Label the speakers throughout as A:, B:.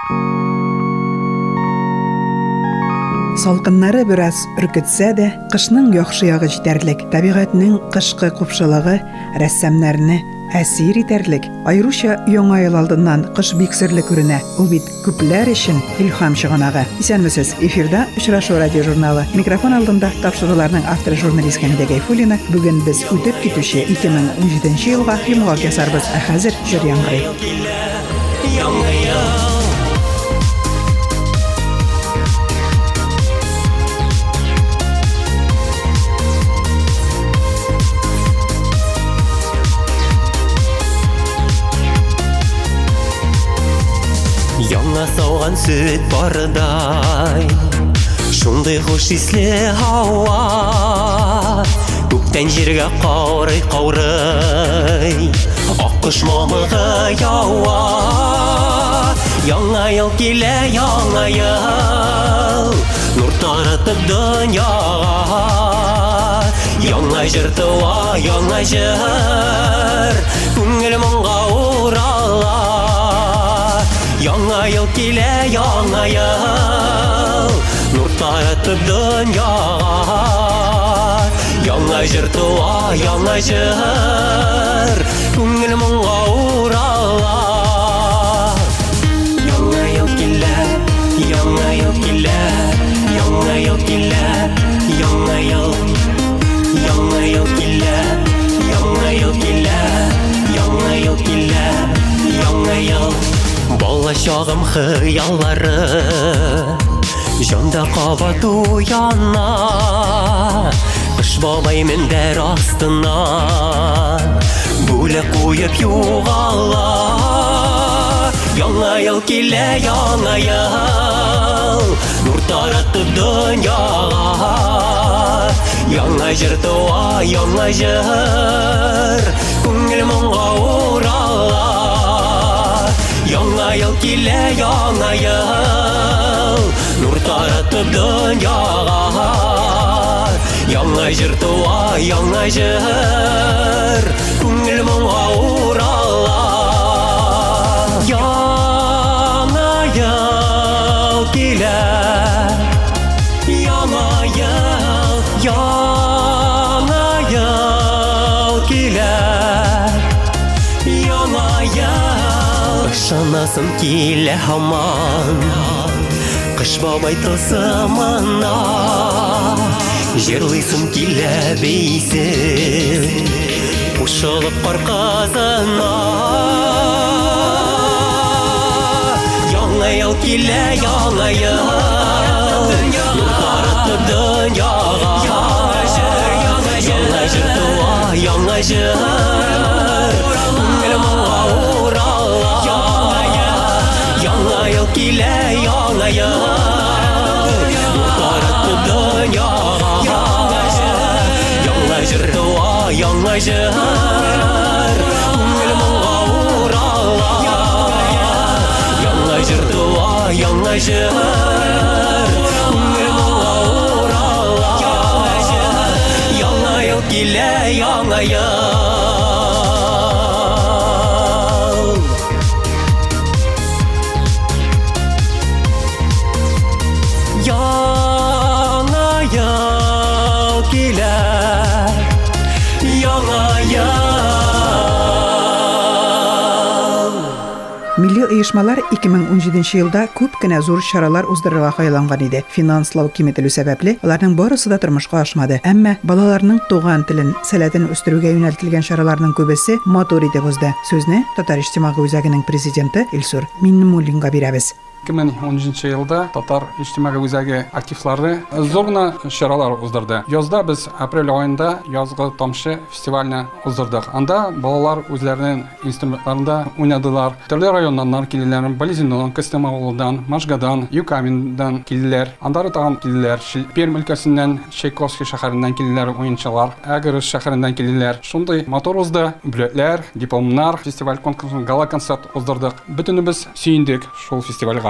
A: Салкыннары бераз үркетсә дә, кышның яхшы ягы җитәрлек, табигатьнең кышкы купшылыгы рәссамнарны әсир итәрлек. Айруча яңа ел алдыннан кыш бик серле күренә. Ул бит күпләр өчен илһам чыганагы. Исәнмесез, эфирда Очрашу радио журналы. Микрофон алдында тапшыруларның авторы журналист Хәмидә Гайфуллина. Бүген без үтеп китүче 2017 елга йомгак ясарбыз. Ә хәзер җыр яңгырый.
B: Яңа сауган сөт бардай, шундый хуш исле һава, күктән җиргә каурый, аккош мамыгы ява. Яңа ел килә, яңа ел, нур таратып дөньяга. Яңа җыр туа, яңа җыр, күңел моңга урала. Яңа ел килә, яңа ел, нур таратып дөньяга. Яңа җыр туа, яңа җыр, күңел моңга урала. Яңа ел килә, яңа ел килә, яңа ел килә, яңа ел. Яңа ел килә, яңа ел килә, яңа ел килә, яңа ел. Бала чагым хыяллары җанда кабат уяна. Кыш бабай мендәр астына бүләк куеп югала. Яңа ел килә, яңа ел, нур таратып дөньяга. Яңа җыр туа, яңа җыр, күңел моңга урала. Яңа ел килә, яңа ел, нур таратып дөньяга. Яңа җыр туа, яңа җыр, күңел моңга урала. Яңа ел килә, яңа ел, яңа ел килә, яңа ел. Ышанасым килә һаман, кыш бабай тылсымына. Җырлыйсым килә бейсен, кушылып кар казына. Яңа ел килә, яңа ел, нур таратып дөньяга. Яңа җыр туа, яңа җыр, күңел моңга урала. Яңа ел килә, яңа ел, нур таратып дөньяга. Яңа җыр туа, яңа җыр, күңел моңга урала. Яңа җыр туа, яңа җыр, күңел моңга урала. Яңа ел килә, яңа ел. Яңа ел килә, яңа ел.
A: Милли оешмалар 2017 елда күп кенә зур чаралар уздырырга хыялланган иде. Финанслау киметелү сәбәпле аларның барысы да тормышка ашмады. Әмма балаларның туган телен, сәләтен үстерүгә юнәлтелгән чараларның күбесе матур итеп узды. Сүзне Татар иҗтимагый үзәгенең президенты Илсур Миннемуллинга бирәбез.
C: 2017 елда Татар иҗтимагый үзәге активлары зур гына чаралар уздырды. Язда без апрель айында язгы тамчы фестивальне уздырдык. Анда балалар үзләренең инструментларында уйнадылар. Төрле районнан килделәр, Болезинодан, Кострома авылдан, Машгадан, Юкаминдан килделәр. Андары тагын килделәр. Пермь өлкәсеннән, Чайковский шәһәреннән килделәр уенчылар. Агрыш шәһәреннән килделәр. Шундый матур узды. Бүләкләр, дипломнар, фестиваль конкурсын, гала концерт уздырдык. Бөтенебез сөендек шул фестивальгә.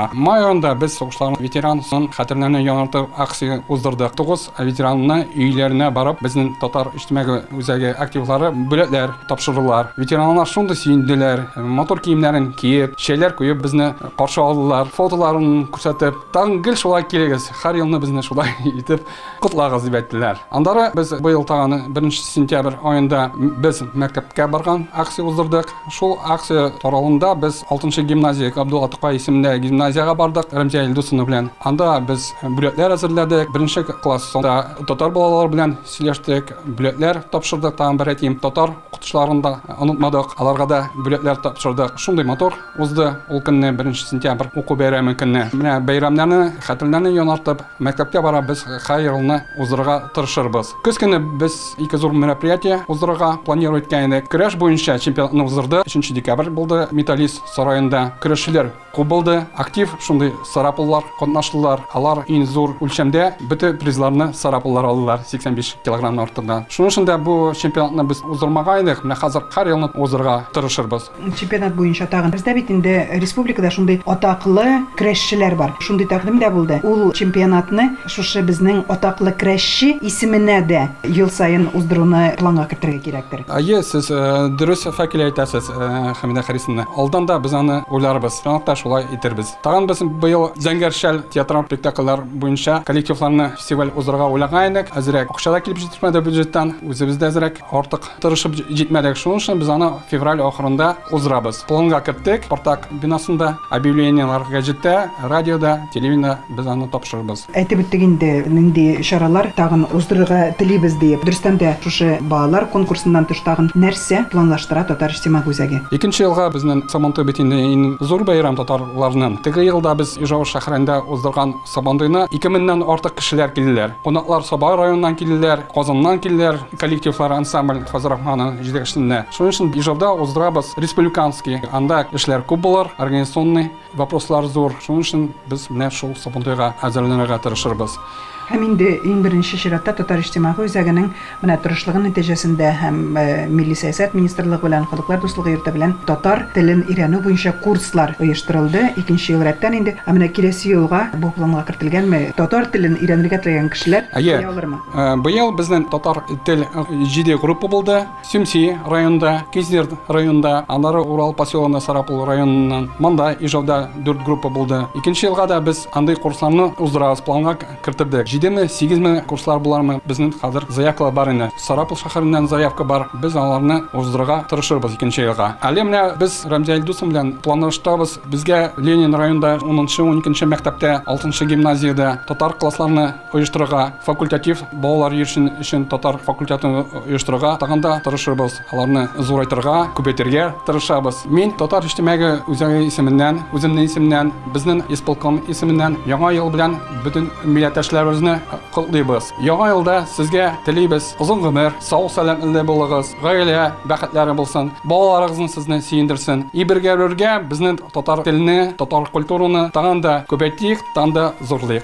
C: уздыра. Май айында без сугышларның ветеранын хәтерләренә яңарту акция уздырдык. 9 ветеранны өйләренә барып, безнең татар иҗтимагый үзәге активлары бүләкләр тапшырулар. Ветераннар шундый сөенделәр, мотор киемнәрен киеп, шәйләр куеп безне каршы алдылар, фотоларын күрсәтеп, тагын гел шулай килегез, һәр елны безне шулай итеп кутлагыз дип әйттеләр. Андары без быел тагын 1 сентябрь айында без мәктәпкә барган акция уздырдык. Шул акция таралында без 6-нчы гимназия Абдулла Тукай исемендә гимназияга бардык Рәмзия Илдусовна белән. Анда без бүләкләр әзерләдек. 1-нче классында татар балалар белән сөйләштек, бүләкләр тапшырдык. Тагын бер әйтим, татар укытучыларын да онытмадык. Аларга да бүләкләр тапшырдык. Шундый мотор узды ул көнне 1 сентябрь уку бәйрәме көнне. Менә бәйрәмнәрне, хәтерләрне яңартып, мәктәпкә барабыз, һәр елны уздырырга тырышырбыз. Көз көнне без 2 зур мероприятие уздырырга планирует иткән идек. Көрәш буенча чемпионатны уздырды. 3 декабрь булды Металлист сараенда. Көрәшчеләр күп булды, актив шундый сарапуллар катнаштылар. Алар иң зур үлчәмдә бөтен призларны сарапуллар алдылар 85 килограмм артында. Шуның өчен дә бу чемпионатны без уздырмага идек. Менә хәзер һәр елны уздырырга тырышырбыз.
A: Чемпионат буенча тагын бездә бит инде республикада шундый атаклы көрәшчеләр бар. Шундый тәкъдим дә булды. Ул чемпионатны шушы безнең атаклы көрәшче исеменә дә ел сайын уздыруны планга кертергә кирәктер.
C: Ае, сез дөрес факел әйтәсез, Хәмидә Харисовна. Алдан да без аны уйларбыз. Чынлыкта шулай итербез. Тагын без быел Зәңгәршәл театраль спектакльләр буенча коллективларны фестиваль уздырырга уйлаган идек. Әзрәк акча килеп җитмәде бюджеттан. Үзебездә әзрәк артык тырышып җитмәдек. Шуның өчен без аны февраль ахырында уздырабыз. Планга кертик. Спартак бинасында объявлениелар гәҗиттә, радиода, телевидениедә без аны тапшырабыз.
A: Әйтеп үттек инде, нинди чаралар тагын уздырырга телибез дип. Дөрестән дә шушы балалар конкурсыннан тыш тагын нәрсә планлаштыра Татар иҗтимагый үзәге?
C: 2нче елга безнең Сабантуй бит инде иң зур бәйрәм татарларның. Теге елда без Ижау шәһәрендә уздырган Сабантуйны 2000-нән артык кешеләр килделәр. Кунаклар Сабай районыннан килделәр, Казаннан килделәр, коллективлар ансамбль Фазрахманның җитәкчелегендә. Шуның өчен Ижауда уздырабыз республиканский. Анда эшләр күп булыр, организационный вопрослар зур. Шуның өчен без менә шул Сабантуйга әзерләнергә тырышырбыз.
A: Һәм инде иң беренче чиратта Татар иҗтимагый үзәгенең менә тырышлыгы нәтиҗәсендә һәм Милли сәясәт министрлыгы белән Халыклар дуслыгы йорты белән татар телен өйрәнү буенча курслар оештырылды. 2нче ел рәттән инде. Менә киләсе елга бу планга кертелгәнме? Татар телен өйрәнергә теләгән кешеләр алырмы?
C: Быел безнең татар тел 7 группа булды. Сümси районында, Кизер районында, аннары Урал поселогында Сарапул районыннан, монда Ижауда 4 группа булды. 2нче елга да без андый курсларны уздырабыз, планга кертеп 7-8 курслар булармы? Безнең хәзер заявкалар бар инде. Сарапул шәһәреннән заявка бар. Без аларны уздырырга тырышырбыз 2нче елга. Әле менә без Рәмзия Илдусовна белән планлаштырабыз. Безгә Ленин районында 10-12 мәктәптә, 6-нчы гимназиядә татар классларны оештырырга, факультатив балалар өчен татар факультатын оештырырга тагында тырышырбыз. Аларны зурайтырга, күбәйтергә тырышабыз. Мин татар иҗтимагый үзәге исеменнән, үземнең исемнән, безнең исполком исеменнән яңа ел белән бөтен милләттәшләребезне котлыйбыз. Яңа елда сезгә телибез озын гомер, сау-сәламәтле булыгыз, гаилә бәхетләре булсын, балаларыгызны сезне сөендерсен. Бергә безнең татар телене, татар культураны тагын да күбәйтик, тагын да зурлыйк.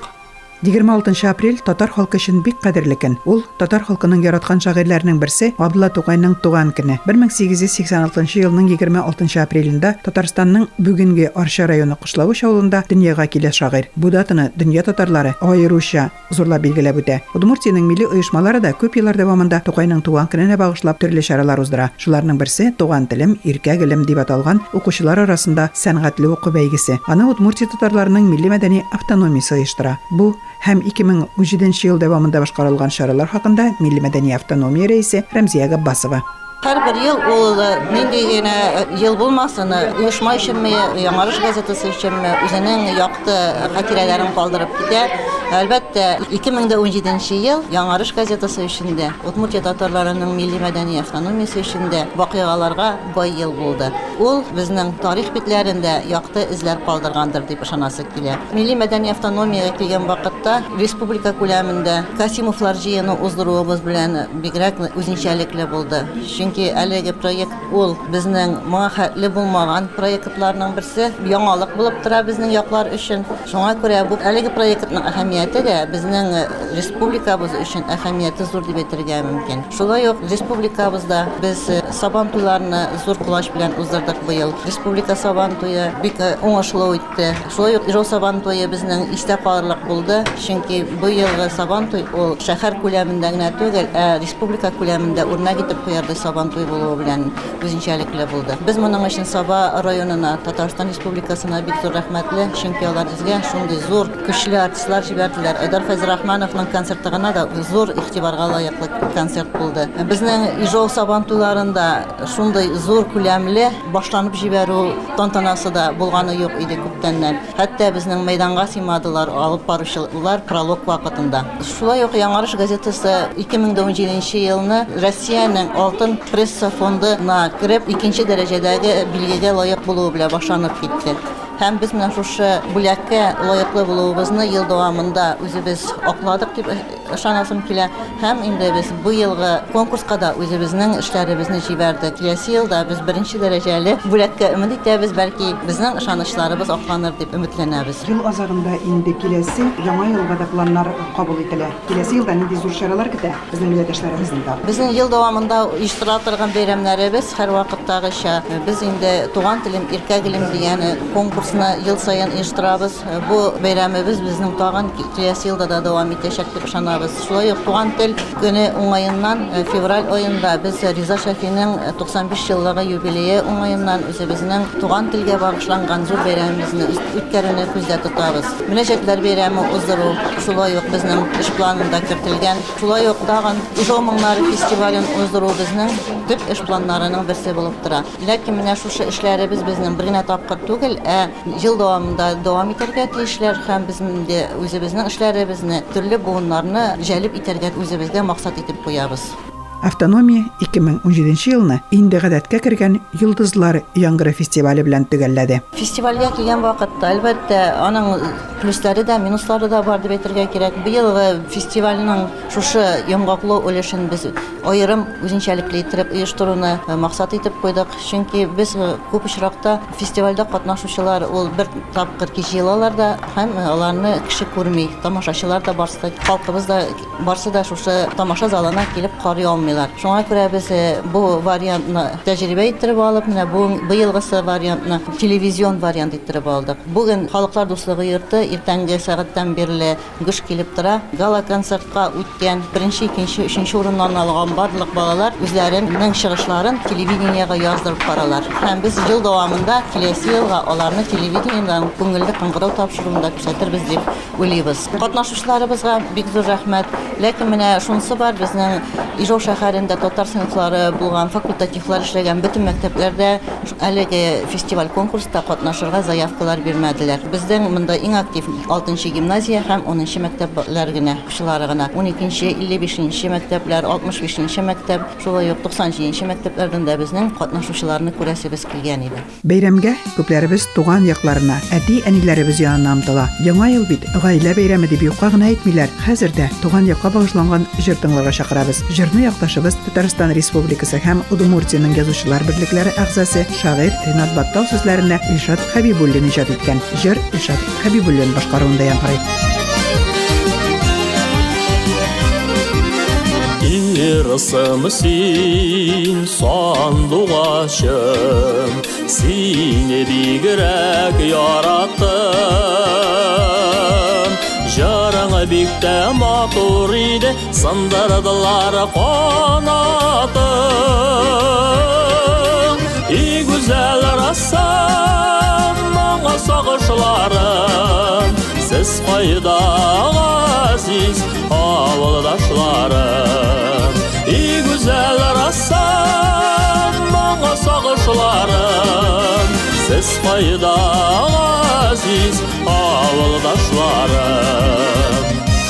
A: 26 апрель татар халкы өчен бик кадерле көн. Ул татар халкының яраткан шагыйрьләренең берсе Абдулла Тукайның туган көне. 1886 елның 26 апрелендә Татарстанның бүгенге Арча районы Кышлавыч авылында дөньяга килә шагыйрь. Бу датаны дөнья татарлары аеруча зурлап билгеләп үтә. Удмуртиянең милли оешмалары да күп еллар дәвамында Тукайның туган көненә багышлап төрле чаралар уздыра. Шуларның берсе туган телем, иркә гөлем дип аталган укучылар арасында сәнгатьле уку бәйгесе. Аны Удмуртия татарларының милли мәдәни автономиясе оештыра. Бу һәм 2017 ел дәвамында башкарылган чаралар хакында Милли мәдәни автономия рәисе Рәмзия Габбасова.
D: Һәр ел ул нинди генә ел булмасын, оешма өченме, Яңарыш газетасы өченме үзенең якты хатирәләрен калдырып китә. Әлбәттә, 2017 ел Яңарыш газетасы өчен дә, Удмуртия татарларының милли мәдәни автономиясе өчен дә вакыйгаларга бай ел булды. Ул безнең тарих битләрендә якты эзләр калдыргандыр дип ышанасы килә. Милли мәдәни автономиягә килгән вакытта республика күләмендә Касимовлар җыены уздыруыбыз белән бигрәк үзенчәлекле булды. Чөнки әлеге проект ул безнең мәхәлле булмаган проектларның берсе, яңалык булып тора безнең яклар өчен. Шуңа күрә бу әлеге проектның әһәмияте дә безнең республикабыз өчен әһәмияте зур дип әйтергә мөмкин. Шулай ук республикабызда без Сабантуйларны зур кулач белән уздырдык. булдык быел. Республика Сабан туе бик уңышлы үтте. Шулай ук Ижау Сабан туе безнең истә калырлык булды. Чөнки быелгы Сабан туй ул шәһәр күләмендә генә түгел, республика күләмендә үрнәк итеп куярды Сабан туй булуы белән үзенчәлекле булды. Без моның өчен Саба районына, Татарстан Республикасына бик зур рәхмәтле, чөнки алар безгә шундый зур көчле артистлар җибәрделәр. Айдар Фәйзрахмановның концерты гына да зур игътибарга лаеклы концерт булды. Безнең Ижау Сабан туйларында шундый зур күләмле башланып җибәрү тантанасы да булганы юк иде күптәннән. Хәтта безнең мәйданга сыймадылар алып баручылар пролог вакытында. Шулай ук Яңарыш газетасы 2017 елны Россиянең алтын пресса фондына кирип, икенче дәрәҗәдәге билгегә лаек булуы белән башланып китте. Һәм без менә шушы бүләккә лаеклы булуыбызны ел дәвамында үзебез акладык дип ышанасым килә. Һәм инде без бу елгы конкурска да үзебезнең эшләребезне җибәрдек. Киләсе елда без беренче дәрәҗәле бүләккә өмет итәбез, бәлки безнең ышанычларыбыз акланыр дип өметләнәбез.
A: Ел азагында инде киләсе яңа елга да планнар кабул ителә. Киләсе елда нинди зур чаралар көтә безнең милләттәшләребезнең да?
D: Безнең ел дәвамында оештыра торган бәйрәмнәребез һәр вакыттагыча. Без инде туган телем, иркә гелем дигән конкурсны ел саен оештырабыз. Бу бәйрәмебез безнең тагын киләсе елда да дәвам итәчәк дип ышанабыз. Шулай ук туган тел көне уңаеннан февраль аенда без Риза Шәфинең 95 еллыгы юбилее уңаеннан үзебезнең туган телгә багышланган зур бәйрәмебезне үткәрүне күздә тотабыз. Мөнәҗәтләр бәйрәме уздыру шулай ук безнең эш планында кертелгән. Шулай ук тагын Ижау моңнары фестивален уздыру безнең төп эш планнарының берсе булып тора. Ләкин менә шушы эшләребез безнең бер генә тапкыр түгел, ел дәвамында дәвам итәргә тиешләр һәм безнең дә үзебезнең эшләребезне төрле буыннарны җәлеп итәргә үзебезгә максат итеп куябыз.
A: Автономия 2017 елны инде гадәткә кергән Йолдызлар яңгыры фестивале белән төгәлләде.
D: Фестивальгә килгән вакытта әлбәттә аның плюслары да, минуслары да бар дип әйтергә кирәк. Быелгы фестивальнең шушы яңгыраклы өлешен без аерым үзенчәлекле итеп оештыруны максат итеп куйдык. Чөнки без күп очракта фестивальдә катнашучылар ул бер тапкыр кичилалар да һәм аларны кеше күрми, тамашачылар да барсы, халкыбыз да барсы да шушы тамаша залына килеп карый алмый. Шуңа күрә без бу вариантны тәҗрибә иттереп алып, менә быелгысы вариантны телевизион вариант иттереп алдык. Бүген Халыклар дуслыгы йорты иртәнге сәгатьтән бирле гыш килеп тора. Гала концертка үткән 1-нче, 2-нче, 3-нче урыннарны алган барлык балалар үзләренең чыгышларын телевидениегә яздырып каралар. Һәм без ел дәвамында киләсе елга аларны телевидениедән күңелле кыңгырау тапшыруында күрсәтербез дип уйлыйбыз. Катнашучыларыбызга бик зур рәхмәт. Ләкин менә шунысы бар, безнең Ижау шәһәрендә татар сыйныфлары булган, факультативлар эшләгән бөтен мәктәпләрдә әлеге фестиваль конкурста катнашырга заявкалар бирмәделәр. Безнең монда иң актив 6-нчы гимназия һәм 10-нчы мәктәпләр генә, кешеләр генә. 12-нче, 55-нче мәктәпләр, 65-нче мәктәп, шулай ук 90-нчы мәктәпләрдән дә безнең катнашучыларны күрәсебез килгән иде.
A: Бәйрәмгә күпләребез туган якларына, әти-әниләребез янына омтыла. Яңа ел бит гаилә бәйрәме дип юкка гына әйтмиләр. Хәзердә туган якка багышланган җыр тыңларга чакырабыз. Җырны якташыбыз Татарстан Республикасы һәм Удмуртияның язучылар берлекләре әгъзасы шагыйрь Ринат Баттал сүзләренә Илшат Хәбибуллин иҗат иткән. Җыр Илшат Хәбибуллин башкаруында яңгырый.
B: Ирсым син сандугачым, сине бигрәк яраттым. Жараңа бик тә матур иде, сындырдылар канатын. И гүзәл рассам, моңа сагышларым, сез кайда газиз авылдашларым. И гүзәл рассам, моңа сагышларым, сез кайда газиз авылдашларым.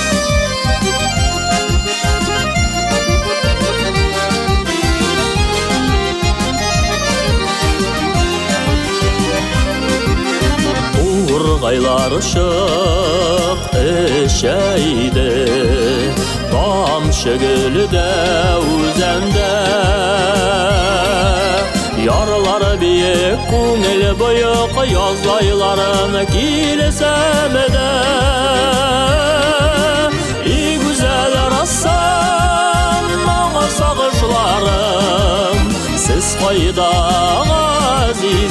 B: Ургайлар шык эчәйде, тамчы гөлдә үзәндә. Ярлар биек, күңел боек, яз айларын килсәм дә. И гүзәл рассам, моңа сагышларым, сез кайда газиз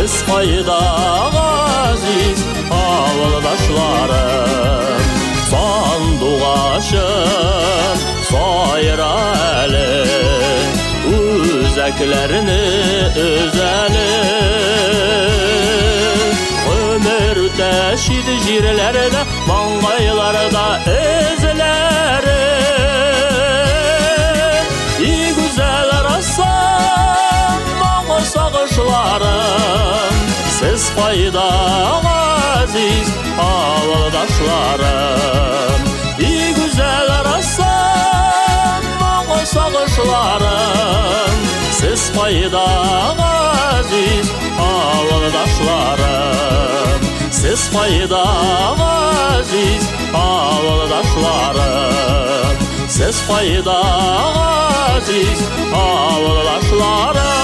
B: Siz kayda aziz avıldaşlarım Sanduğaşım sayrali Üzeklerini özeli Ömür teşhid jirlerde Mangaylarda izleri İyi güzel ressam Bana sağışlarım Siz fayda aziz avıldaşlarım İyi güzel ressam Bana sağışlarım Siz fayda aziz avıldaşlarım Siz fayda aziz avıldaşlarım Siz fayda aziz avıldaşlarım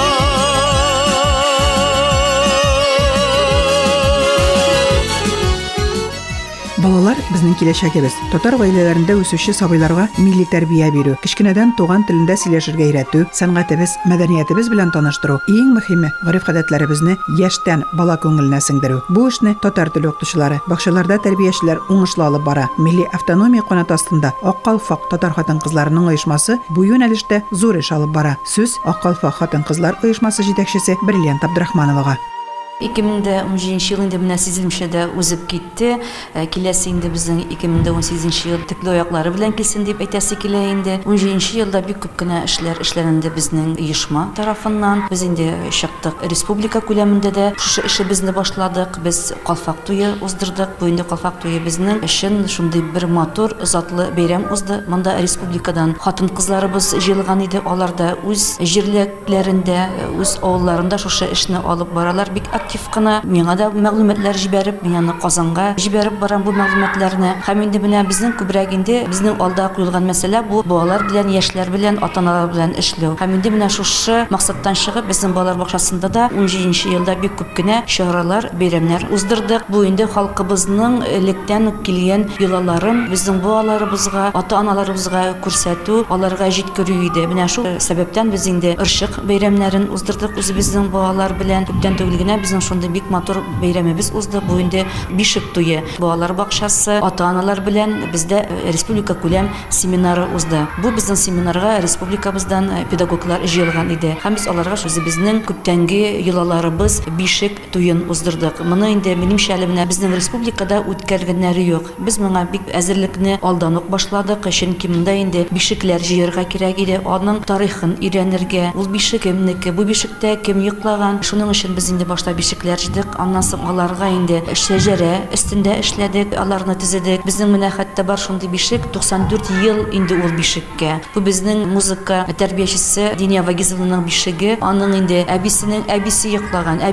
A: Балалар безнең киләчәгебез. Татар гаиләләрендә үсүче сабыйларга милли тәрбия бирү, кичкенәдән туган телендә сөйләшергә өйрәтү, сәнгатебез, мәдәниятебез белән таныштыру, иң мөһиме гореф-гадәтләребезне яшьтән бала күңеленә сеңдерү. Бу эшне татар теле укытучылары, бакчаларда тәрбиячеләр уңышлы алып бара. Милли автономия канаты астында Ак калфак татар хатын-кызларының оешмасы бу юнәлештә зур эш алып бара. Сүз Ак калфак хатын-кызлар оешмасы җитәкчесе Бриллиант Абдрахмановага.
E: 2017 ел инде менә сизелмешәдә узып китте. Киләсе инде безнең 2018 ел текле аяклары белән килсен дип әйтәсе килә инде. 17 елда бик күп кенә эшләнде безнең оешма тарафыннан. Без инде чыктык республика күләмендә дә шушы эшебезне башладык. Без калфак туе уздырдык. Бу инде калфак туе безнең өчен шундый бер матур, затлы бәйрәм узды. Монда республикадан хатын-кызларыбыз җыелган иде. Алар да үз җирлекләрендә, үз авылларында шушы эшне алып баралар. Бик активкана миңа да мәгълүматлар җибәреп, мин аны Казанга җибәреп барам бу мәгълүматларны. Һәм инде менә безнең күбрәк инде безнең алда куелган мәсьәлә бу балалар белән, яшьләр белән, ата-аналар белән эшләү. Һәм инде менә шушы максаттан чыгып безнең балалар бакчасында да 17 елда бик күп кенә чаралар, бәйрәмнәр уздырдык. Бу инде халкыбызның электән килгән йолаларын безнең балаларыбызга, ата-аналарыбызга күрсәтү, аларга җиткерү иде. Менә шул сәбәптән без инде ырчык бәйрәмнәрен уздырдык үзебезнең балалар белән. Күптән түгел генә безнең шундый бик матур бәйрәмебез узды. Бу инде бишек туе. Балалар бакчасы, ата-аналар белән бездә республика күләм семинары узды. Бу безнең семинарга республикабыздан педагоглар җыелган иде. Һәм без аларга үзебезнең күптәнге йолаларыбыз бишек туен уздырдык. Моны инде минемчә әле менә безнең республикада үткәргәннәре юк. Без моңа бик әзерлекне алдан ук башладык. Чөнки монда инде бишекләр җыярга кирәк иде. Аның тарихын өйрәнергә. Ул бишек кемнеке, бу бишектә кем йоклаган. Шуның өчен без инде башта бишекләр җыйдык. Аннан соң аларга инде шәҗәрә өстендә эшләдек, аларны төзедек. Безнең менә хәтта бар шундый бишек 94 ел инде ул бишеккә. Бу безнең музыка тәрбиячесе Диния Вагизованың бишеге. Аның инде әбисенең әбисе йоклаган,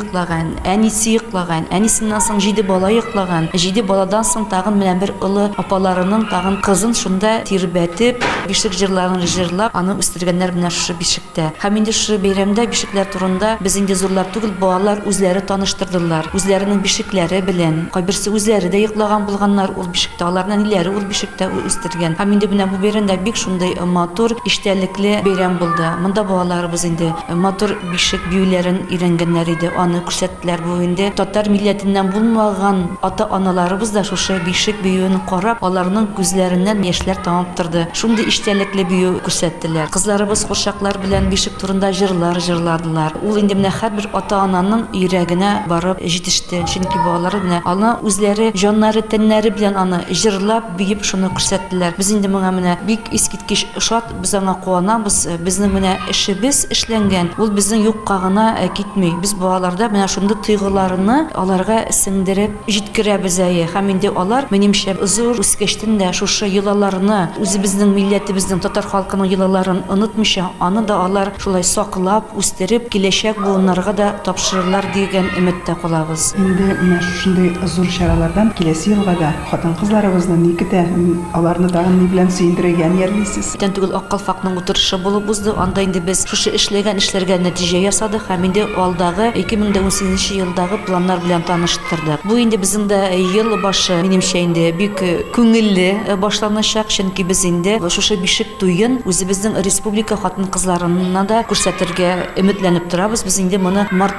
E: әнисе йоклаган, әнисеннән соң 7 бала йоклаган. 7 баладан соң тагын менә бер улы апаларының тагын кызын шунда тирбәтеп, бишек җырларын җырлап, аны үстергәннәр менә шушы бишектә. Һәм инде шушы бәйрәмдә бишекләр турында без инде зурлар түгел, балалар үзләре таныштырдылар. Үзләренең бишекләре белән. Кайберсе үзләре дә йоклаган булганнар ул бишектә. Аларның ниләре ул бишектә үстергән. Һәм инде менә бу бәйрәмдә бик шундый матур, иштәлекле бәйрәм булды. Монда балаларыбыз инде матур бишек биюләрен өйрәнгәннәр иде. Аны күрсәттеләр. Бу инде татар милләтеннән булмаган ата-аналарыбыз да шушы бишек биюен карап, аларның күзләреннән яшьләр тамып торды. Шундый иштәлекле бию күрсәттеләр. Кызларыбыз курчаклар белән бишек турында җырлар җырладылар. Ул инде менә һәрбер ата-ананың йөрәгенә барып җитеште. Чөнки балалар белән аны үзләре җаннары, тәннәре белән аны җырлап, биеп шуны күрсәттеләр. Без инде моңа менә бик искиткеч шат, без аңа куанабыз. Безнең менә эшебез эшләнгән. Ул безнең юкка гына китми. Без балаларда менә шундый тойгыларны аларга сеңдереп җиткерәбез әйе. Һәм инде алар минемчә зур үскәчтән дә шушы йолаларны, үзебезнең милләтебезнең татар халкының йолаларын онытмыйча, аны да алар шулай саклап, үстереп, киләчәк буыннарга да тапшырырлар дигән өметтә калабыз.
A: Инде менә шундый зур чаралардан киләсе елга да хатын-кызларыбызны никетә, аларны тагын ни белән сөендерергә ниятлисез?
E: Күптән түгел Ак калфакның утырышы булып узды. Анда инде без шушы эшләгән эшләргә нәтиҗә ясадык һәм инде алдагы 2018 елдагы планнар белән таныштырдык. Бу инде безнең дә ел башы минемчә инде бик күңелле башланачак, чөнки без инде шушы бишек туен үзебезнең республика хатын-кызларына да күрсәтергә өметләнеп торабыз. Без инде моны март айларына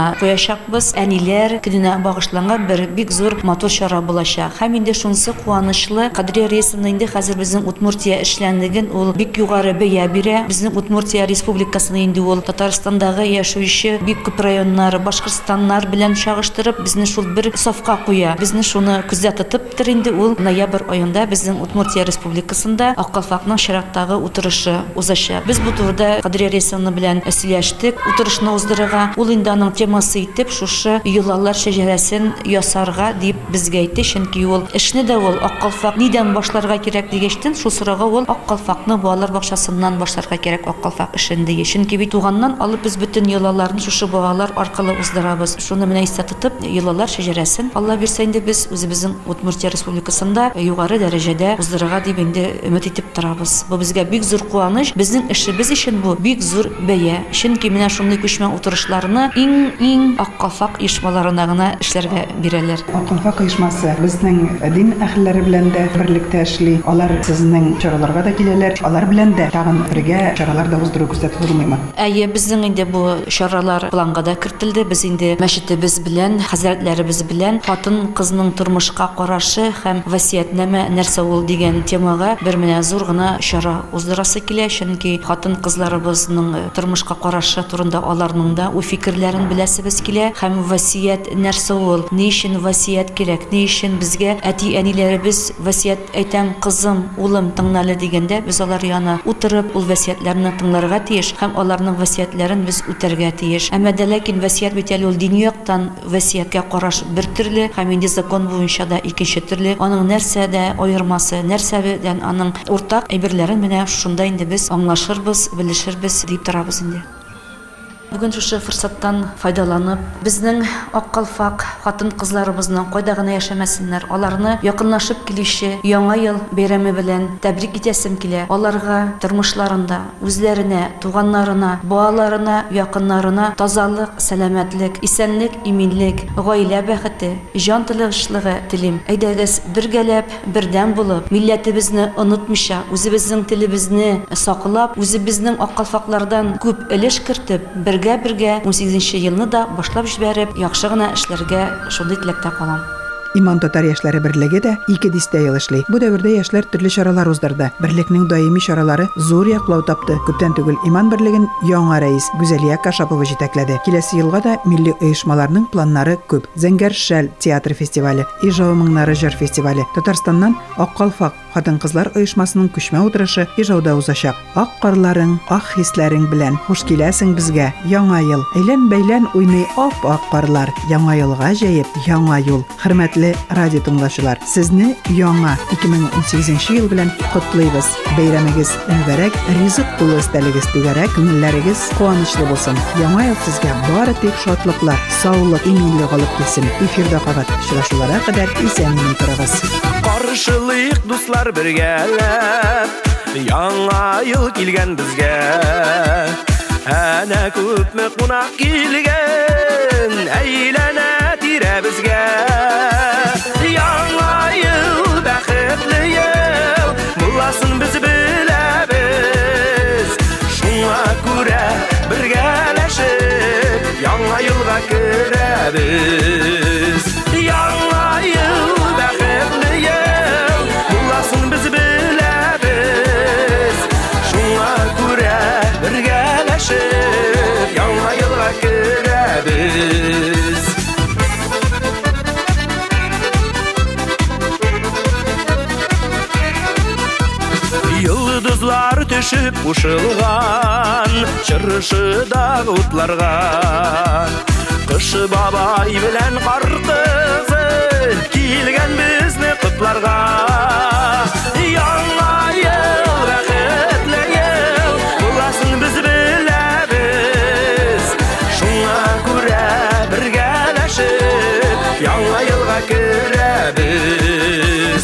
E: гына куячакбыз. Әниләр көненә багышланган бер бик зур матур чара булачак. Һәм инде шунысы куанычлы. Кадрия Рәисовна инде хәзер безнең Удмуртия эшләнлеген ул бик югары бәя бирә. Безнең Удмуртия республикасына инде ул Татарстандагы яшәүче бик күп районнар, Башкортстаннар белән чагыштырып, безне шул бер сафка куя. Безне шуны күздә тотып тор инде ул ноябрь аенда безнең Удмуртия республикасында Аккалфакның чираттагы утырышы узачак. Без бу турыда Кадрия Рәисовна белән сөйләштек. Утырышны уздырырга, ул инде аның темасы итеп шушы юллар шәҗәрәсен ясарга дип безгә әйтте, чөнки ул эшне дә ул Аккалфак нидән башларга кирәк дигәчтен, шул сорауга ул Аккалфакны балалар бакчасыннан башларга кирәк Аккалфак эшен ди. Чөнки бит туганнан алып без бөтен юлларны шушы балалар аркылы уздырабыз. Шуны менә истә тотып, юллар шәҗәрәсен Алла бирсә инде без үзебезнең Удмуртия республикасында югары дәрәҗәдә уздырырга дип инде өмет итеп торабыз. Бу безгә бик зур куаныч, безнең эшебез өчен бу бик зур бәя. Чөнки менә шундый күчмә утырышларны иң Аккалфак оешмаларына гына эшләргә бирәләр.
A: Аккалфак оешмасы безнең дин әһелләре белән дә берлектә эшли. Алар сезнең чараларга да киләләр. Алар белән дә тагын бергә чаралар да уздыру күрсәтелмәме?
E: Әйе, безнең инде бу чаралар планга да кертелде. Без инде мәчетебез белән, хәзрәтләребез белән хатын кызның тормышка карашы һәм васиятнамә нәрсә ул дигән темага бер менә зур гына чара уздырасы килә. Чөнки хатын кызларыбызның тормышка карашы турында аларның да у фикерләрен беләсебез килә һәм васият нәрсә ул, ни өчен васият кирәк, ни өчен безгә әти-әниләребез васият әйтәм, кызым, улым, тыңлалы дигәндә без алар янына утырып ул васиятләрне тыңларга тиеш һәм аларның васиятләрен без үтәргә тиеш. Әмма дә ләкин васият бит әле ул дини яктан васияткә караш бер төрле һәм инде закон буенча да икенче төрле. Аның нәрсәдә аермасы, нәрсәдән аның уртак әйберләрен менә шунда инде без аңлашырбыз, белешербез дип торабыз инде. Бүген шушы форсаттан файдаланып, безнең Аккалфак хатын-кызларыбызның кайда гына яшәмәсеннәр, аларны якынлашып килүче Яңа ел бәйрәме белән тәбрик итәсем килә. Аларга тормышларында үзләренә, туганнарына, балаларына, якыннарына тазалык, сәламәтлек, исәнлек, иминлек, гаилә бәхете, җан тынычлыгы телим. Әйдәгез бергәләп, бердәм булып, милләтебезне онытмыйча, үзебезнең телебезне саклап, үзебезнең Аккалфаклардан күп өлеш кертеп, бергә 18нче елны да башлап җибәреп, яхшы гына эшләргә шундый теләктә калам.
A: Иман татар яшьләре берлеге дә 2 дистә ел эшли. Бу дәвердә яшьләр төрле чаралар уздырды. Берлекнең даими чаралары зур яклау тапты. Күптән түгел Иман берлеген яңа рәис Гүзәлия Кашапова җитәкләде. Киләсе елга да милли оешмаларның планнары күп. Зәңгәр шәл театр фестивале, Ижау моңнары җыр фестивале. Татарстаннан Аккалфак хатын-кызлар оешмасының күчмә утырышы Ижауда узачак. Ак карларың, ак хисләрең белән хуш киләсең безгә. Яңа ел. Әйлән-бәйлән уйный ап-ак карлар. Яңа елга җәеп, яңа юл. Хөрмәтле радио тыңлаучылар, сезне яңа 2018 ел белән котлыйбыз. Бәйрәмегез мөбарәк, ризык тулы истәлегез түгәрәк, күңелләрегез куанычлы булсын. Яңа ел сезгә бары тик шатлыклар, саулык, иминлек алып килсен. Эфирдә кабат очрашуларга кадәр исәнлек торыгыз.
F: Каршылык дуслар бергәләп, яңа ел килгән безгә. Әнә күпме кунак килгән, әйләнә тирә безгә. Яңа ел бәхетле ел, буласын без беләбез. Шуңа күрә бергәләшеп, яңа елга керәбез. Яңа ел бәхетле ел, буласын без беләбез. Шуңа күрә бергәләшеп, яңа елга керәбез. Йолдызлар төшеп кушылган чыршыдагы утларга, Кыш бабай белән кар кызы килгән безне котларга. Яңа ел бәхетле ел, буласын без беләбез. Шуңа күрә бергәләшеп, яңа елга керәбез.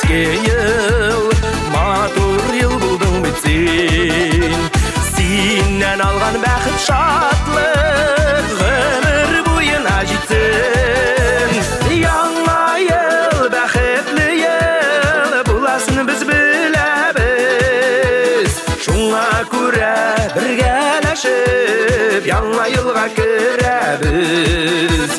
F: изге ел, матур ел булдың бит сен. Сеннен алған бақыт шатлық ғұмыр бойына жетсін. Яңа ел, бақытлы ел боласын біз білеміз. Шуңа күрә біргәләшіп яңа елға кіреміз.